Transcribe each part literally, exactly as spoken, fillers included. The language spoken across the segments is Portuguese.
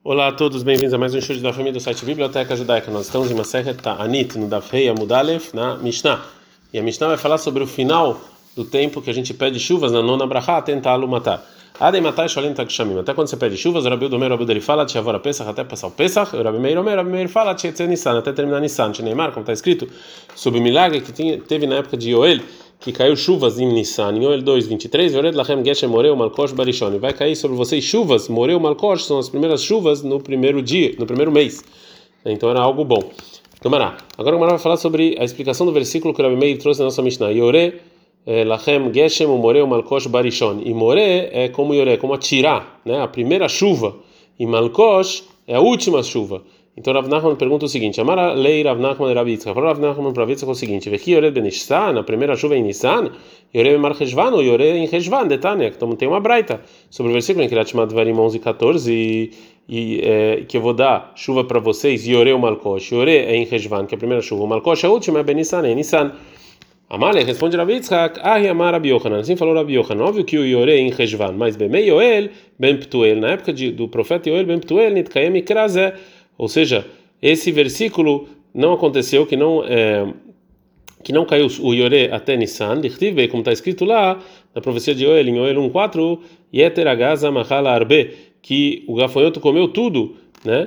Olá a todos, bem-vindos a mais um show da família do site Biblioteca Judaica. Nós estamos em Masechet Ta'anit, no Daf Hei Amud Aleph, na Mishnah. E a Mishnah vai falar sobre o final do tempo que a gente pede chuvas na nona brachá, tentá-lo matar. Adem matai sholim takshamim. Até quando você pede chuvas, o Rabi Udomer, o Rabi Uderi fala, Tchavora Pesach, até passar o Pesach, o Rabi Meir Omer, o Rabi Meir fala, Tchetze Nissan, até terminar Nissan. Neymar, como está escrito, sobre o milagre que tinha, teve na época de Yoel, que caiu chuvas em Nissan, em Yoel dois, vinte e três, Yored Lachem Geshem Moreu Malkosh Barishon. Vai cair sobre vocês chuvas, Moreu Malkosh, são as primeiras chuvas no primeiro dia, no primeiro mês. Então era algo bom. Tomará. Agora o Mará vai falar sobre a explicação do versículo que o Rabi Meir trouxe na nossa Mishnah. Yore Lachem Geshem Moreu Malkosh Barishon. E More é como Yore, como atirar, né? A primeira chuva. E Malkosh é a última chuva. Então Rav Nachman pergunta o seguinte: Amara lei Rav Nachman Rav Yitzchak. Falou Rav Nachman para Rav Yitzchak o seguinte: Vechi Yored ben Nissan, a primeira chuva é em Nissan, Yore ben Mar Cheshvan ou Yore em Cheshvan, Detânia. Então tem uma braita sobre o versículo em Kirat Shema Dvarim onze, quatorze, e, e é, que eu vou dar chuva para vocês, Yore o Malkosh. Yore é em Cheshvan, que é a primeira chuva. O Malkosh a última é ben Nissan, é em Nissan. Amalek responde Rav Yitzchak: Ahi Amar Rabi Yochanan. Assim falou Rabi Yochanan. Óbvio que o Yore é em Cheshvan, mas Bemei Yoel ben Ptuel, na época de, do profeta Yoel ben Ptuel, Nitkayem Ikrazeh. Ou seja, esse versículo não aconteceu, que não é, que não caiu o Yore até Nissan, como está escrito lá na profecia de Yoel, em Yoel um, quatro, Yeter Agaza Machala Arbe, que o gafanhoto comeu tudo, né?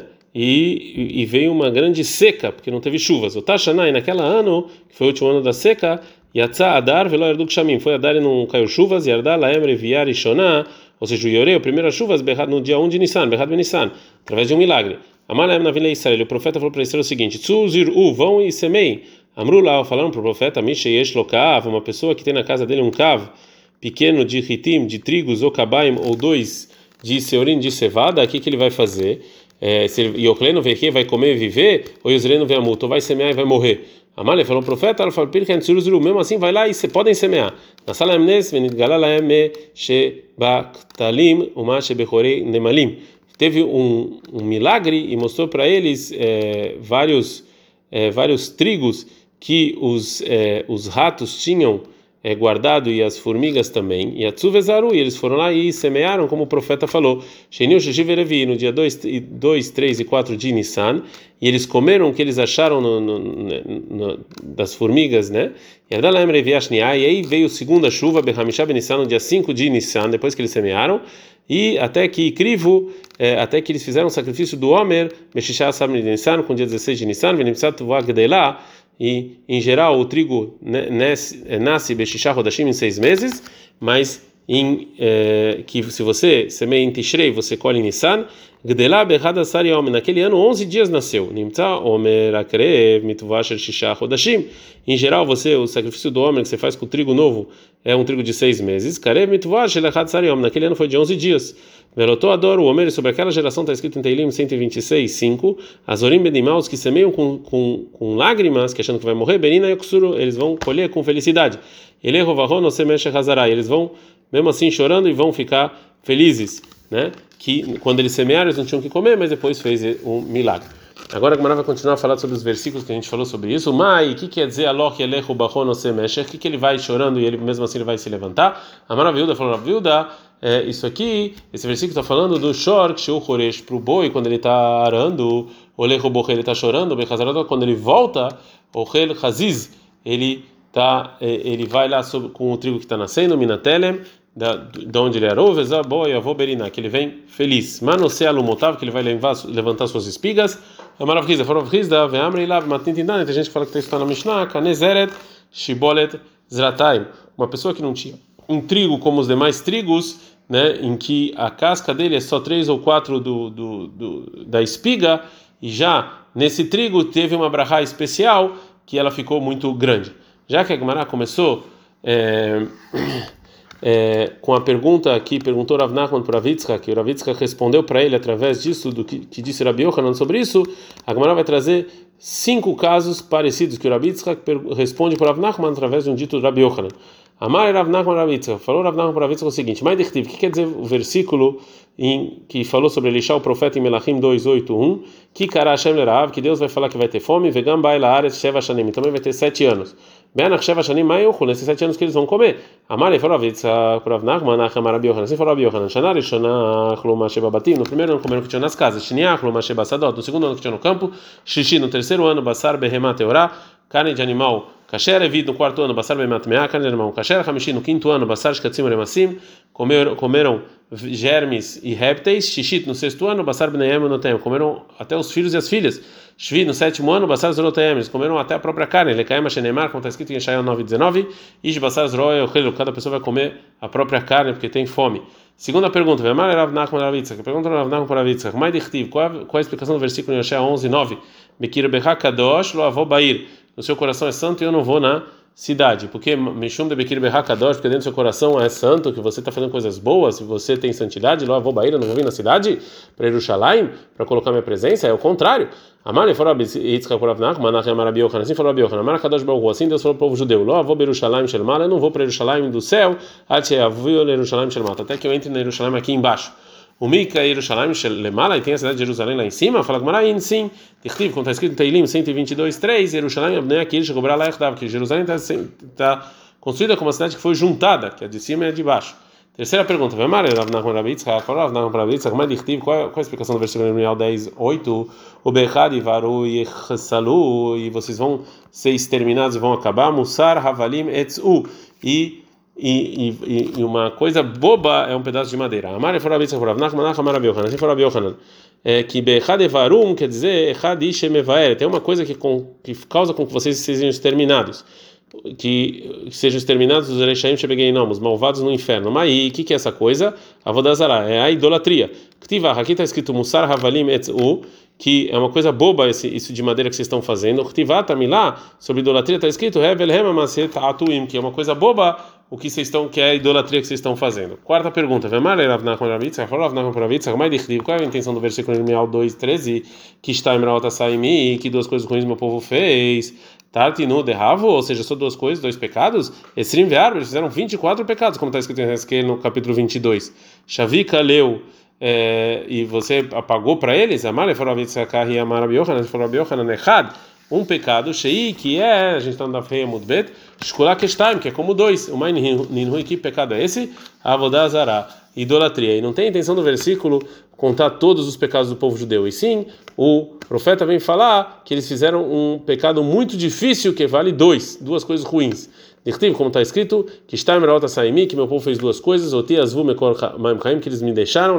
E, e veio uma grande seca, porque não teve chuvas. O Tashanai, naquela ano, que foi o último ano da seca, Yatsa Adar Velo Erduk Shamim, foi Adar e não caiu chuvas, Yardá Laem Reviar e Shonah, ou seja, o Yore, a primeira chuvas, no dia um de Nissan, Berrad Ben Nissan, através de um milagre. Amalaem na Vila Israel, o profeta falou para Israel o seguinte: Tzuziru, vão e semeiem. Amrullah, falaram para o profeta, Misheyesh Lokav, uma pessoa que tem na casa dele um cav pequeno de hitim, de trigos, ou kabaim, ou dois de seorim, de cevada, o que que ele vai fazer? É, se Yokleno Veche vai comer e viver, ou Yosreno Veamut, ou vai semear e vai morrer. Amalek falou o profeta, mesmo assim vai lá e se podem semear. Na sala Amnes, Venidgalalaem me Shebaktalim, uma Shebechorei Nemalim. Teve um, um milagre e mostrou para eles é, vários é, vários trigos que os é, os ratos tinham é, guardado e as formigas também. E a Tzuvezaru, e eles foram lá e semearam como o profeta falou. Sheniu Sheshiverevi, no dia dois, três e quatro de Nissan, e eles comeram o que eles acharam no, no, no, das formigas, né? E aí veio a segunda chuva, Behamisha Ben Nissan, no dia cinco de Nissan, depois que eles semearam. E até que Crivo, é, até que eles fizeram o sacrifício do Homer, Meshisha Sabni de Nissan, com o dia dezesseis de Nissan, Venimsat Vagdelah, e em geral o trigo nasce Beshisha Rodashim em seis meses, mas em, é, que se você semeia em Tishrei, você colhe em Nissan, Gdelah Bechada Sari Homer, naquele ano onze dias nasceu, Nimtza Homer Akrev Mitvasher Shisha Rodashim. Em geral, você, o sacrifício do Homer que você faz com o trigo novo é um trigo de seis meses, Karev Mitvasher Lechad Sari Homer, naquele ano foi de onze dias. Velotou adoro o Homer, sobre aquela geração está escrito em Teilim cento e vinte e seis, cinco, Azorim Benimaus, que semeiam com, com, com lágrimas, que achando que vai morrer, Benina Yoksuru, eles vão colher com felicidade. Eleho Vahon Osemesh Hazarai, eles vão, mesmo assim, chorando e vão ficar felizes, né? Que quando eles semearam, eles não tinham que comer, mas depois fez um milagre. Agora a Gemara vai continuar a falar sobre os versículos que a gente falou sobre isso. Mai, o que quer dizer Aloch Elehu Bachon Osemesh? O que que ele vai chorando e ele mesmo assim ele vai se levantar? A Maravilda falou, Maravilda, é, isso aqui, esse versículo está falando do Shor, Kshu Choresh, para o boi, quando ele está arando, o Lehu Boche, ele está chorando, o quando ele volta, o Hel Haziz, ele, tá, ele vai lá sobre, com o trigo que está nascendo, Minatelem, da, de onde ele arou, Vezaboia, Voberina, que ele vem feliz. Manose Alumotav, que ele vai levar, levantar suas espigas. A Maravilda, Farovrizda, Veamre Lav, Matintindan, tem gente que fala que está na Mishnah, Kanezeret, Shibolet, Zrataim. Uma pessoa que não tinha um trigo como os demais trigos, né, em que a casca dele é só três ou quatro do, do, do, da espiga, e já nesse trigo teve uma brachá especial que ela ficou muito grande. Já que a Gemara começou é, é, com a pergunta que perguntou Rav Nachman para Rav Yitzchak, que o Rav Yitzchak respondeu para ele através disso, do que, que disse Rabi Yochanan sobre isso, a Gemara vai trazer cinco casos parecidos que o Rav Yitzchak responde para Rav Nachman através de um dito do Rabi Yochanan. Amar Rav Nachman Rav Yitzchak, falou Rav Nachman Rav Yitzchak o seguinte, mas o que quer dizer o versículo em, que falou sobre Elisha, o profeta, em Melachim dois, oito, um, que cara Hashem lerav, que Deus vai falar que vai ter fome, vegam baila aretz sheva shanim, também vai ter sete anos. Benach sheva shanim maiuchu, nesses sete anos que eles vão comer. Amar falou Rav Yitzchak, Rav Nachman, Nachman Rav Yochanan, assim falou Rav Yochanan, Shana Rishona Chluma Sheba Batim, no primeiro ano comeram o que tinha nas casas, Shniach Chluma Sheba Sadot, no segundo ano que tinha no campo, Shishi, no terceiro ano, Basar Behemah Teorah, carne de animal kasher, evid no quarto ano, basar bemat meah, carne de animal kasher, hamishi no quinto ano, basar shkatzim remassim, comeram, comeram germes e répteis, shishit no sexto ano, basar bneiam notem, comeram até os filhos e as filhas, shvi no sétimo ano, basar zrotem, eles comeram até a própria carne, lekaim shenemar, como está escrito em Yeshayahu nove, dezenove, ish basar zroe ochelu, cada pessoa vai comer a própria carne porque tem fome. Segunda pergunta, Vemar Rav Nachman Rav Yitzchak, pergunta Rav Nachman Rav Yitzchak, mai dichtiv, qual a explicação do versículo em Yeshayahu onze, nove, Bekir becha kadosh lo avo bair, no seu coração é santo e eu não vou na cidade, porque Mishum de Bekir becha kadosh, porque dentro do seu coração é santo, que você está fazendo coisas boas, se você tem santidade, lo avo bair, eu não vou vir na cidade para Yerushalayim, para colocar minha presença, é o contrário. Amar ele falou Yitzchak por Rav Nachman, Nachman Rav Yochanan, assim falou Rav Yochanan, Amar kadosh baruch hu, assim Deus falou para o povo judeu, lo avo Yerushalayim shel mala, eu não vou para Yerushalayim do céu, até Yerushalayim shel mata, até que eu entre na Yerushalayim aqui embaixo. O Mika Yerushalayim shel lemala, e tem a cidade de Jerusalém lá em cima, fala Gmaraim, sim, Tichtiv, como está escrito em Teilim cento e vinte e dois, três, Yerushalayim abnei aqui, chegou lá echdav, que Jerusalém está construída como uma cidade que foi juntada, que a de cima e a de baixo. Terceira pergunta, Vemar Rav Nachman Rav Yitzchak, falou Rav Nachman Rav Yitzchak, mas Tichtiv, qual é a explicação do versículo Irmial dez, oito, o Bechad Ivaru Yechasalu, e vocês vão ser exterminados e vão acabar, Musar Havalim Etzu, e E, e, e uma coisa boba é um pedaço de madeira. Amar for Rav Yitzchak, Rav Nachman, Nachman Rav Yochanan, assim for Rav Yochanan, é que Bechad Evarum quer dizer Echad Ishemevaer, tem uma coisa que, com, que causa com que vocês sejam exterminados, que sejam exterminados os Erechaim Shebegeinom, os malvados no inferno. Mas o que, que é essa coisa? Avodazara, é a idolatria. Ktivah, aqui está escrito Musar Havalim Etzu, que é uma coisa boba esse, isso de madeira que vocês estão fazendo. Ktivah, Tamilá, sobre idolatria está escrito Hevel Hema Maset Atuim, que é uma coisa boba o que vocês estão, que é a idolatria que vocês estão fazendo. Quarta pergunta, Vemar Rav Nachman Rav Yitzchak, falou Rav Nachman Rav Yitzchak, mas qual é a intenção do versículo Irmial dois, treze, que está em Meralta Saimi, que duas coisas ruins meu povo fez, Tartinu derravo, ou seja, só duas coisas, dois pecados, Esrim ve'arba, eles fizeram vinte e quatro pecados, como está escrito em Ezequiel no capítulo vinte e dois. Shavika leu, é, e você apagou para eles, Amar ele falou Rav Yitzchak, e Amar Rav Yochanan, ele falou Rav Yochanan, Echad, um pecado, Shei, que é, a gente está no Daf Hei Amud Bet, Shkulá Keshtaim, que é como dois. O Mai Ninhui, que pecado é esse? Avodazara, idolatria. E não tem a intenção do versículo contar todos os pecados do povo judeu. E sim, o profeta vem falar que eles fizeram um pecado muito difícil, que vale dois, duas coisas ruins. Como está escrito, que está em Saimi, que meu povo fez duas coisas, que eles me deixaram,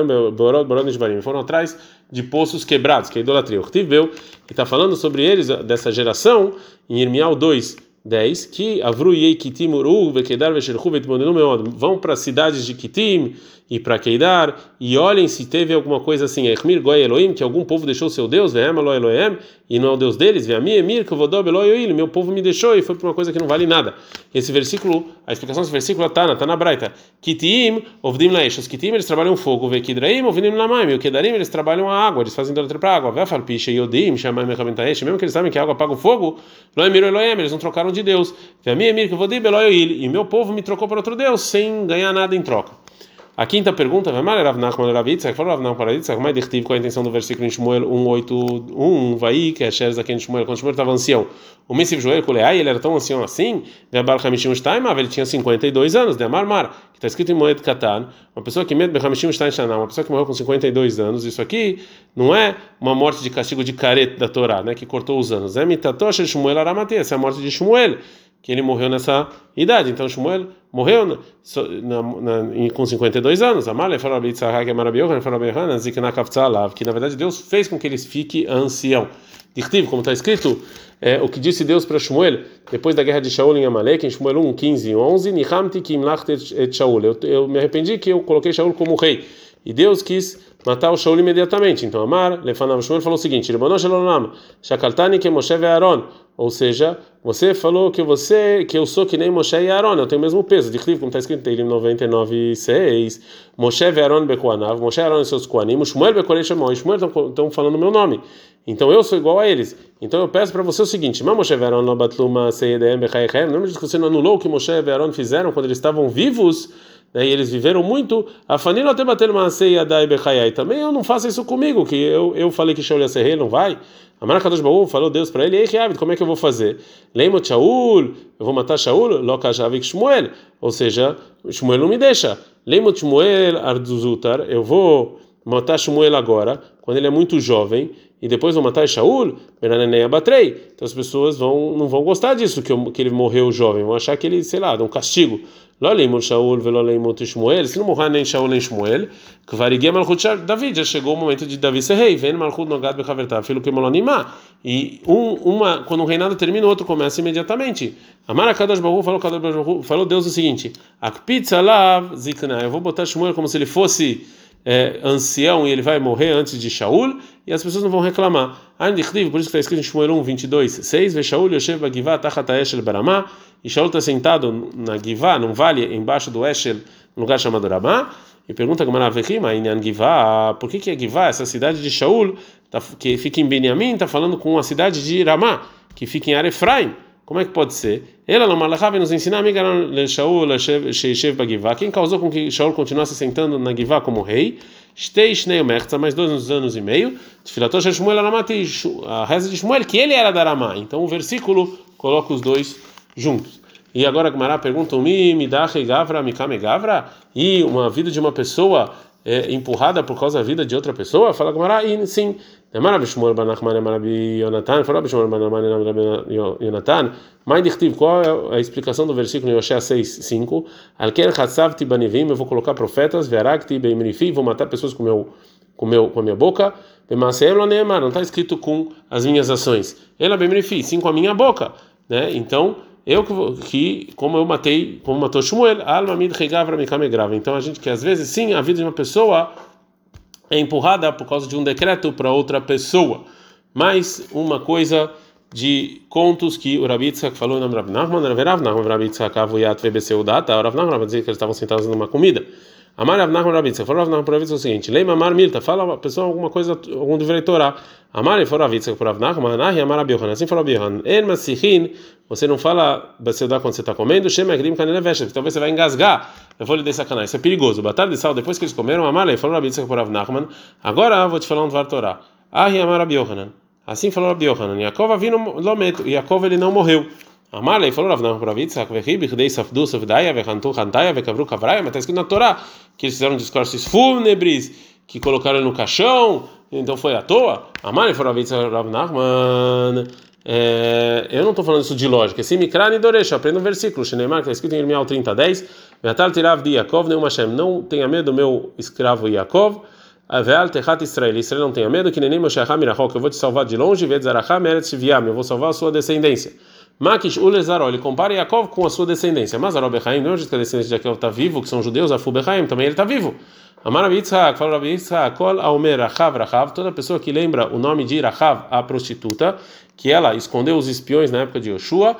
foram atrás de poços quebrados, que é a idolatria. O que está falando sobre eles, dessa geração, em Irmial dois, dez, que Avruiei Kitim Uru, Vekedar Vesherchu Vetmonenu Meod, vão para as cidades de Kitim e para Keidar e olhem se teve alguma coisa assim, Echmir Goi Elohim, que algum povo deixou seu Deus, Ve'em Elo Elohem, e não é o Deus deles, Ve'ami Emir, que Vodob Elo Yoil, meu povo me deixou e foi por uma coisa que não vale nada. Esse versículo, a explicação desse versículo está na, tá na Braita. Kitim, Ovdim Laesh, os Kitim eles trabalham fogo, Vekidraim, Ovdim Lamaim, e o Kedarim eles trabalham a água, eles fazem idolatria para a água, Ve'afal Pisha Yodim, Shamai Mechaventaesh, mesmo que eles sabem que a água apaga o fogo, Lo Emir Elohem, eles não trocaram de Deus, Ve'ami Emir, que Vodob Elo Yoil, e meu povo me trocou para outro Deus sem ganhar nada em troca. A quinta pergunta, Vemar Rav Nachman Rav Yitzchak, falou Rav Nachman Rav Yitzchak, mas dichtiv, qual a intenção do versículo em Shmuel um, oito, um, vai que é Sheres aqui em Shmuel, quando Shmuel estava ancião. O Messiv Joel Kuleai, ele era tão ancião assim, Ve'abar Hamishim Shtaim, ele tinha cinquenta e dois anos, De'amar Mar, que está escrito em Moed Katan, uma pessoa que met Hamishim Shtaim Shana, uma pessoa que morreu com cinquenta e dois anos, isso aqui não é uma morte de castigo de caret da Torá, né, que cortou os anos, é Mitatosh Shmuel Aramate, essa é a morte de Shmuel, que ele morreu nessa idade. Então Shmuel morreu na, na, na, com cinquenta e dois anos. Amale falou que na verdade Deus fez com que eles fiquem ancião. Dichtiv, como está escrito, é, o que disse Deus para Shmuel depois da guerra de Shaul em Amalek, em Shmuel um, quinze e onze, Nihamti kim lachtet et Shaul. Eu me arrependi que eu coloquei Shaul como rei. E Deus quis matar o Shaul imediatamente. Então Amar Lefanav Shmuel falou o seguinte: Ribono shel olam, shakaltani ke Moshe ve Aaron. Ou seja, você falou que você, que eu sou que nem Moshe e Aaron, eu tenho o mesmo peso. De Clive, como está escrito em Teilim noventa e nove, seis. Moshe ve Aaron bekoanav, Moshe e Aaron e seus koanim, Shmuel bekorei shemoi, Shmuel estão falando o meu nome. Então eu sou igual a eles. Então eu peço para você o seguinte: Mas Moshe ve Aaron lo batluma seyedem bechayechem. Lembra de que você não anulou o que Moshe e Aaron fizeram quando eles estavam vivos? Né, e eles viveram muito. A Fanilo até bater uma ceia da Ibechayai. Também eu não faço isso comigo, que eu, eu falei que Shaul ia ser rei, não vai? A Mara Kadosh Baú falou Deus para ele: Ei, Reavid, como é que eu vou fazer? Leimot Shaul, eu vou matar Shaul, Lokajavik Shmuel. Ou seja, Shmuel não me deixa. Leimot Shmuel Arduzutar, eu vou matar Shmuel agora, quando ele é muito jovem, e depois vou matar Shaul, Beranenei Abatrei. Então as pessoas vão, não vão gostar disso, que, eu, que ele morreu jovem, vão achar que ele, sei lá, dá um castigo. Loleimot Shaul, Veloleimot Shmuel, se não morrer nem Shaul nem Shmuel, que variguia Malchut David, já chegou o momento de Davi ser rei, vem Malchut Nogad Bechavertav, filho que Molonimá. E um, uma, quando um reinado termina, o outro começa imediatamente. Amara Kadosh Baruch falou, Kadosh Baruch falou Deus o seguinte: Akpitz alav zikna, eu vou botar Shmuel como se ele fosse É, ancião e ele vai morrer antes de Shaul, e as pessoas não vão reclamar. Por isso que está escrito em Shmuel um, vinte e dois, seis: Ve Shaul Yoshev Bagivá Tachat Eshel Baramá, e Shaul está sentado na Givá, num vale embaixo do Eshel, num lugar chamado Ramá. E pergunta Gamara Vechima, Inyan Givá, por que que é Givá, essa cidade de Shaul, tá, que fica em Benjamim, está falando com a cidade de Ramá, que fica em Arefraim? Como é que pode ser? Ela não malachava nos ensinar a Shaul Sheishev Bagivá. Quem causou com que Shaul continuasse sentando na Givá como rei? Shtei Shnei Mertza, mais dois anos e meio. Tfilatot Shel Shmuel Aramati, a reza de Shmuel, que ele era da Aramá. Então o versículo coloca os dois juntos. E agora a Gemara pergunta: Mi Midachei Gavra Mikame Gavra? E uma vida de uma pessoa é empurrada por causa da vida de outra pessoa? Fala Gemara, e sim. Marabi Shmuel ben Nachman, Marabi Yonatan, fala Shmuel ben Nachman, Marabi Yonatan. Mas dichtiv, qual é a explicação do versículo em Hoshea seis, cinco? Alken Hatzavti Banivim, eu vou colocar profetas, Verakti Beimrifi, vou matar pessoas com meu com meu com a minha boca. Bemaseem lo neemar, não está escrito com as minhas ações. Ela Beimrifi, sim com a minha boca, né? Então eu que, como eu matei, como matou Shmuel, alma mid regavra mikame grava. Então a gente que às vezes sim a vida de uma pessoa é empurrada por causa de um decreto para outra pessoa. Mas uma coisa de contos que o Rabi Yitzhak falou no Rav Nachman, Rav Nachman, Rabi Yitzhak avuyat vebeseudat, o Rav Nachman vai dizer que eles estavam sentados numa comida. Amar Rav Nachman, Rabi Yitzhak, falou Rav Nachman para Rav Yitzhak o seguinte: Leima Amar Milta, fala a pessoa alguma coisa, algum deveria Torá. Amar e for Rav Yitzhak para Rav Nachman, Anahi Amar Rabi Yohanan, assim falou Rabi Yohanan, En Masichin, você não fala beseudat quando você está comendo, Shem Agrim Kaneleveshet, talvez você vai engasgar. Eu vou lhe dar sacanagem, isso é perigoso. Batalha de sal, depois que eles comeram, Amar e falou Rabi Yitzhak para Rav Nachman, agora vou te falar um Dvar Torá. Ahi Amar Rabi Yohanan. Assim falou Rabi Yohanan. Yaakov avino lometo. Yaakov ele não morreu. Amalei falou Rav Nachman para Rav Yitzhak, vechi bichdei safdu safdaya vechantu chantaya vekavru kavraya. Mas está escrito na Torá que eles fizeram discursos fúnebres, que colocaram ele no caixão. Então foi à toa. Amalei falou Rav Yitzhak, Rav Nachman. É, eu não estou falando isso de lógica. Se Mikra Nidoresh, aprenda um versículo. Shneimar, que está escrito em Irmial trinta, dez. Ve'atal tirav di Yaakov neum Hashem. Não tenha medo do meu escravo Yaakov. Ve'al techat Israel. Israel não tenha medo que nem Mosheacham mirachok. Eu vou te salvar de longe. Ve'tzaracham eretz viam. Eu vou salvar a sua descendência. Makish ulezarol. Ele compara Yaakov com a sua descendência. Mas Arol Bechaim, não é que a descendência de Yaakov está vivo, que são judeus. Afu Bechaim, também ele está vivo. Amar Rabi Yitzhak, fala Rabi Yitzhak, kol aomer Rachav Rachav. Toda pessoa que lembra o nome de Rachav, a prostituta, que ela escondeu os espiões na época de Yoshua,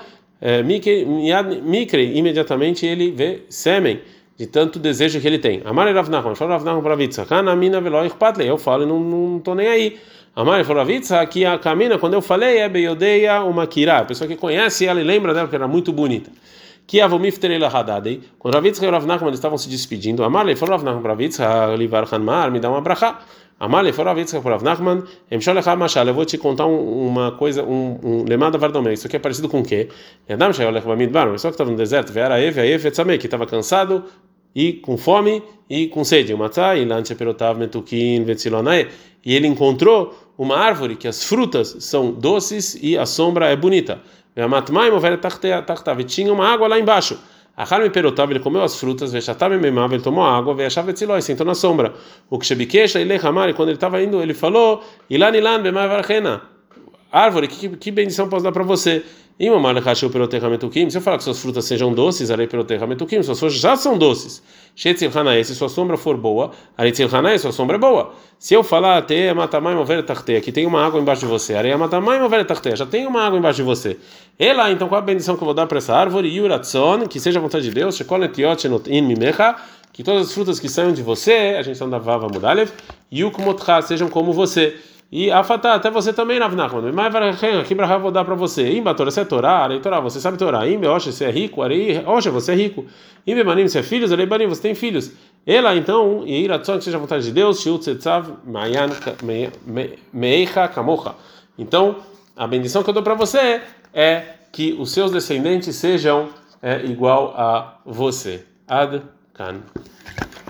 Mikre, imediatamente ele vê sêmen, de tanto desejo que ele tem. Amar Rav Nachman, fala Rav Nachman para Rabi Yitzhak, Anamina veloy patle. Eu falo e não não estou nem aí. Amar falou Rabi Yitzhak, que a Kamina, quando eu falei, é beiodeia uma kirá, a pessoa que conhece ela e lembra dela porque era muito bonita. Que avomifter ela hadadei. Quando Rav Yitzhak e Rav Nachman estavam se despedindo, Amar falou Rav Nachman para Rabi Yitzhak, livar hanmar, me dá uma brachá. Amalei falou Rav Yitzhak para Rav Nachman, emsholechá machal, eu vou te contar um, uma coisa, um, um lemada vardomé. Isso aqui é parecido com o quê? Yadam shayolech bamidbar, uma pessoa que estava no deserto, veara eve, eve etzamei, que estava cansado e com fome e com sede. Matzah e lanche perotav metukin vetzilonae. E ele encontrou uma árvore que as frutas são doces e a sombra é bonita. Ve'amatmai mover tachtav, e tinha uma água lá embaixo. Achar me perotav, ele comeu as frutas, ve'shatav memav, ele tomou a água, ve'achav etziloi, sentou na sombra. O que shebikesh ele hamar, e quando ele estava indo, ele falou: Ilan ilan b'ma'varchena, árvore, que, que bendição posso dar para você? Se eu falar que suas frutas sejam doces, arei perotechametukim, suas frutas já são doces. Se sua sombra for boa, arei tzilchanae, sua sombra é boa. Se eu falar te matamai mover tarteia, que tem uma água embaixo de você, arei matamai mover tarteia, já tem uma água embaixo de você. E lá, então, qual a bendição que eu vou dar para essa árvore? Yuratson, que seja a vontade de Deus, shekol netiot in mimecha, que todas as frutas que saiam de você, a gente está da Vava Mudalev, yukmotcha, sejam como você. E afatá, até você também, Rav Nachman. Mas que brachá vou dar para você? Imba, Torá, você é Torá, Arei Torá, você sabe Torá. Imba, Oxe, você é rico, Arei, Oxe, você é rico. Imba, Manim, você é filhos, Arei, Banim, você tem filhos. Ela, então, e Iratzon, que seja a vontade de Deus, Shiut, Tzetzav, Mayan, Meicha, Kamocha. Então, a bendição que eu dou para você é que os seus descendentes sejam é, igual a você. Ad Kan.